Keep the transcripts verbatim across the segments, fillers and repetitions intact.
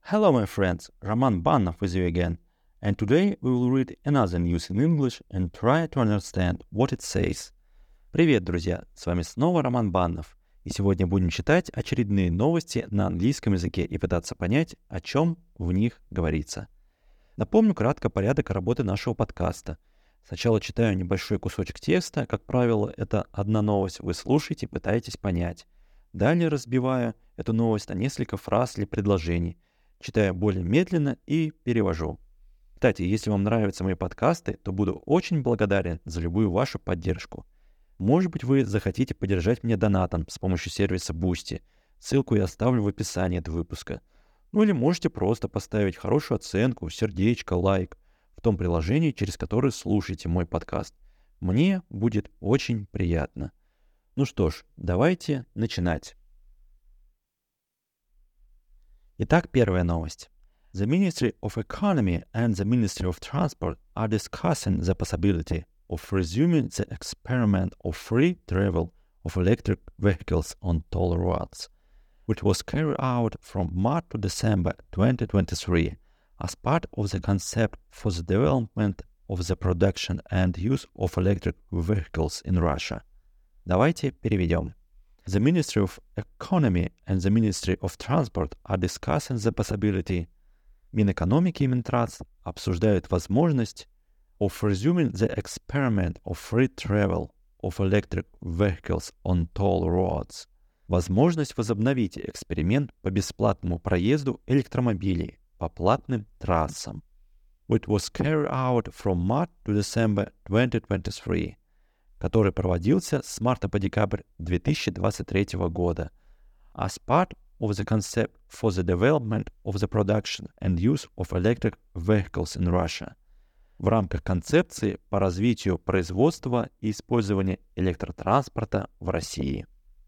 Hello, my friends, Roman Banov with you again, and today we will read another news in English and try to understand what it says. Привет, друзья! С вами снова Роман Баннов, и сегодня будем читать очередные новости на английском языке и пытаться понять, о чем в них говорится. Напомню кратко порядок работы нашего подкаста. Сначала читаю небольшой кусочек текста, как правило, это одна новость, вы слушаете, пытаетесь понять. Далее разбиваю эту новость на несколько фраз или предложений, читаю более медленно и перевожу. Кстати, если вам нравятся мои подкасты, то буду очень благодарен за любую вашу поддержку. Может быть, вы захотите поддержать меня донатом с помощью сервиса Boosty. Ссылку я оставлю в описании этого выпуска. Ну или можете просто поставить хорошую оценку, сердечко, лайк в том приложении, через которое слушаете мой подкаст. Мне будет очень приятно. Ну что ж, давайте начинать. Итак, первая новость. The Ministry of Economy and the Ministry of Transport are discussing the possibility of resuming the experiment of free travel of electric vehicles on toll roads, which was carried out from March to December twenty twenty-three as part of the concept for the development of the production and use of electric vehicles in Russia. Давайте переведем. The Ministry of Economy and the Ministry of Transport are discussing the possibility. Минэкономики и Минтранс обсуждают возможность of resuming the experiment of free travel of electric vehicles on toll roads. Возможность возобновить эксперимент по бесплатному проезду электромобилей по платным трассам. Which was carried out from March to December twenty twenty-three, который проводился с марта по декабрь две тысячи двадцать третьего года, as part of the concept for the development of the production and use of electric vehicles in Russia, в рамках концепции по развитию производства и использования электротранспорта в России.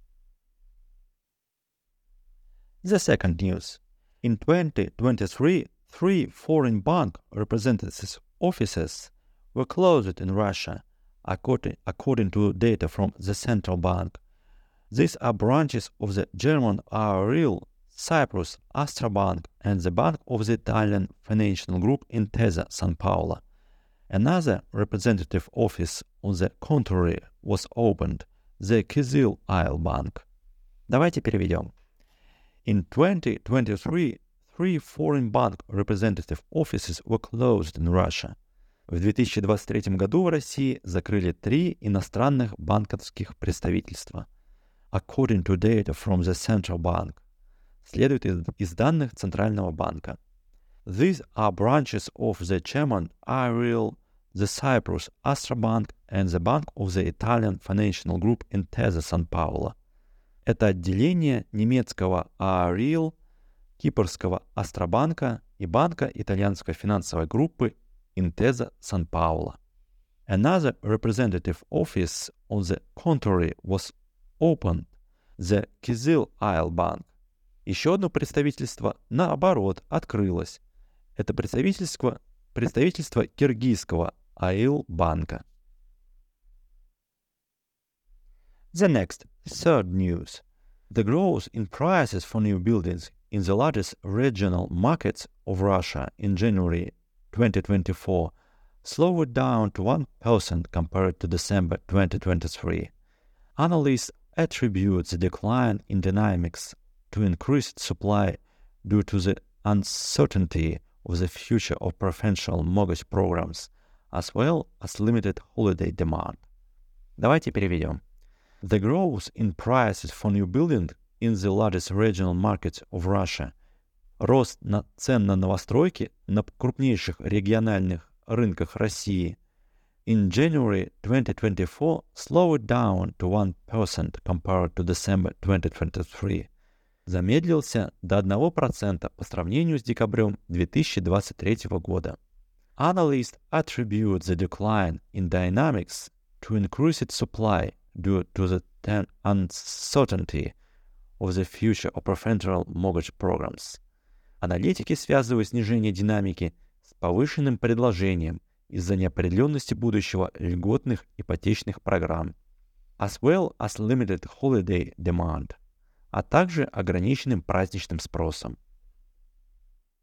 The second news. In twenty twenty-three, three foreign bank representatives' offices were closed in Russia, according, according to data from the central bank. These are branches of the German Aurel, Cyprus, Astra Bank, and the Bank of the Italian financial group Intesa Sanpaolo. Another representative office, on the contrary, was opened, the Kizil Isle Bank. Давайте переведем. In twenty twenty-three, three foreign bank representative offices were closed in Russia. В две тысячи двадцать третьем году в России закрыли три иностранных банковских представительства. According to data from the central bank. Следует из, из данных Центрального банка. These are branches of the German Aurel, the Cyprus Astra Bank and the Bank of the Italian financial group Intesa Sanpaolo. Это отделение немецкого Aurel, кипрского Астробанка и банка итальянской финансовой группы Intesa Sanpaolo. Another representative office, on the contrary, was opened, the Kizil Isle Bank. Еще одно представительство, наоборот, открылось. Это представительство, представительство киргизского Аил банка. The next, third news. The growth in prices for new buildings in the largest regional markets of Russia in January twenty twenty-four slowed down to one percent compared to December twenty twenty-three. Analysts attribute the decline in dynamics to increased supply due to the uncertainty of the future of preferential mortgage programs, as well as limited holiday demand. Давайте переведем. The growth in prices for new buildings in the largest regional markets of Russia, рост на цен на новостройки на крупнейших региональных рынках России, in January twenty twenty-four slowed down to one percent compared to December twenty twenty-three. Замедлился до одного процента по сравнению с декабрем две тысячи двадцать третьего года. Analysts attribute the decline in dynamics to increased supply due to the uncertainty of the future of preferential mortgage programs. Аналитики связывают снижение динамики с повышенным предложением из-за неопределенности будущего льготных ипотечных программ, as well as limited holiday demand, а также ограниченным праздничным спросом.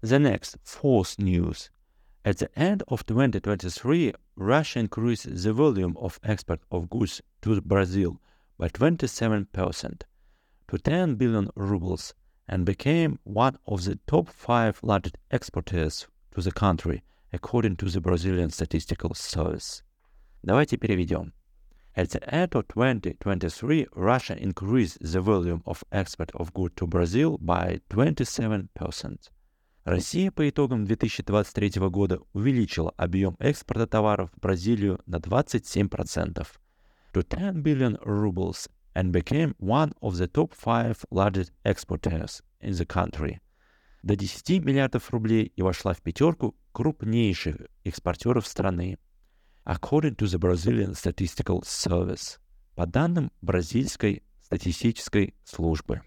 The next, fourth news. At the end of twenty twenty-three, Russia increased the volume of export of goods to Brazil by twenty-seven percent to ten billion rubles and became one of the top five largest exporters to the country, according to the Brazilian Statistical Service. Давайте переведем. At the end of twenty twenty-three, Russia increased the volume of export of goods to Brazil by twenty-seven percent. Россия по итогам две тысячи двадцать третьего года увеличила объем экспорта товаров в Бразилию на двадцать семь процентов to ten billion rubles and became one of the top five largest exporters in the country. До десяти миллиардов рублей и вошла в пятерку крупнейших экспортеров страны. According to the Brazilian Statistical Service, по данным бразильской статистической службы.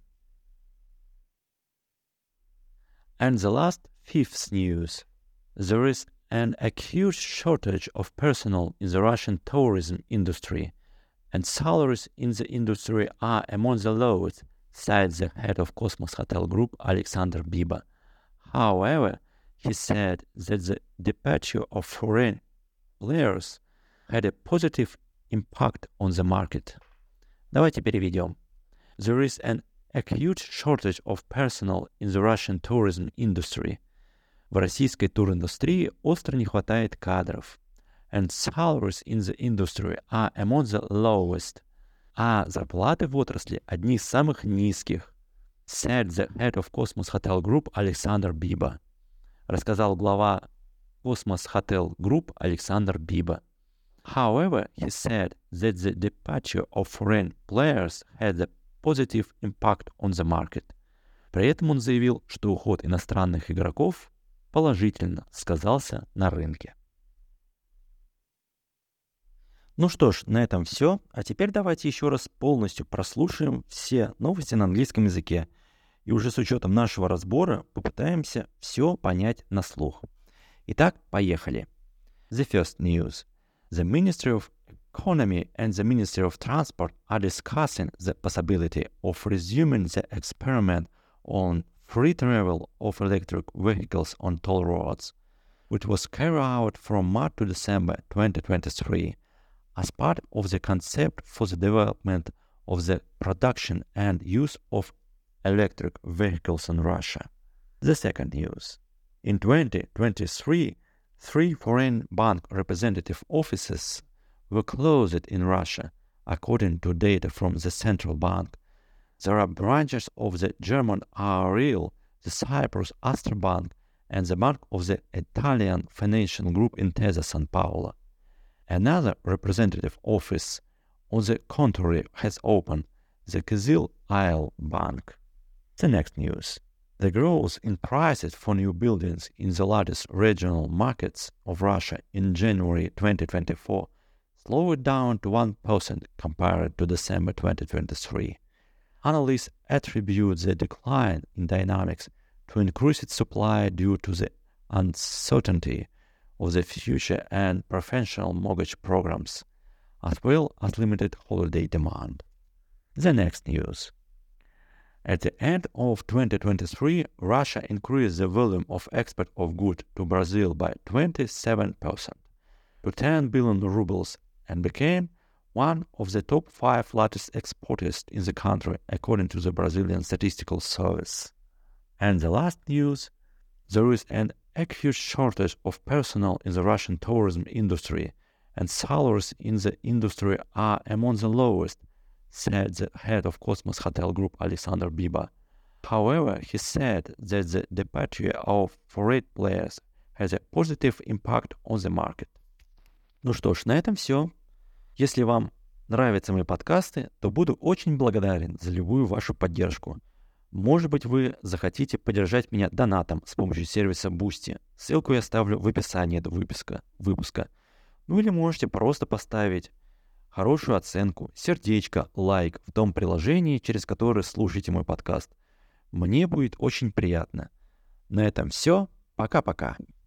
And the last, fifth news. There is an acute shortage of personnel in the Russian tourism industry, and salaries in the industry are among the lowest, said the head of Cosmos Hotel Group, Alexander Biba. However, he said that the departure of foreign players had a positive impact on the market. Давайте переведем. There is an acute shortage of personnel in the Russian tourism industry. В российской туриндустрии остро не хватает кадров. And salaries in the industry are among the lowest. А зарплаты в отрасли одни из самых низких. Said the head of Cosmos Hotel Group Alexander Biba. Рассказал глава Cosmos Hotel Group Alexander Biba. However, he said that the departure of foreign players had a positive impact on the market. При этом он заявил, что уход иностранных игроков положительно сказался на рынке. Ну что ж, на этом все. А теперь давайте еще раз полностью прослушаем все новости на английском языке. И уже с учетом нашего разбора попытаемся все понять на слух. Итак, поехали. The first news. The Ministry of Economy and the Ministry of Transport are discussing the possibility of resuming the experiment on free travel of electric vehicles on toll roads, which was carried out from March to December twenty twenty-three as part of the concept for the development of the production and use of electric vehicles in Russia. The second news. In twenty twenty-three, three foreign bank representative offices were closed in Russia, according to data from the central bank. There are branches of the German R R L, the Cyprus Astra Bank, and the Bank of the Italian Financial Group Intesa Sanpaolo. Another representative office, on the contrary, has opened, the Kizil Isle Bank. The next news. The growth in prices for new buildings in the largest regional markets of Russia in January twenty twenty-four slowed down to one percent compared to December twenty twenty-three. Analysts attribute the decline in dynamics to increased supply due to the uncertainty of the future and preferential mortgage programs, as well as limited holiday demand. The next news. At the end of twenty twenty-three, Russia increased the volume of export of goods to Brazil by twenty-seven percent to ten billion rubles and became one of the top five largest exporters in the country, according to the Brazilian Statistical Service. And the last news, there is an acute shortage of personnel in the Russian tourism industry, and salaries in the industry are among the lowest, said the head of Cosmos Hotel Group Alexander Biba. However, he said that the departure of foreign players has a positive impact on the market. Ну что ж, на этом все. Если вам нравятся мои подкасты, то буду очень благодарен за любую вашу поддержку. Может быть, вы захотите поддержать меня донатом с помощью сервиса Boosty. Ссылку я оставлю в описании этого выпуска. выпуска. Ну или можете просто поставить хорошую оценку, сердечко, лайк в том приложении, через которое слушаете мой подкаст. Мне будет очень приятно. На этом все. Пока-пока.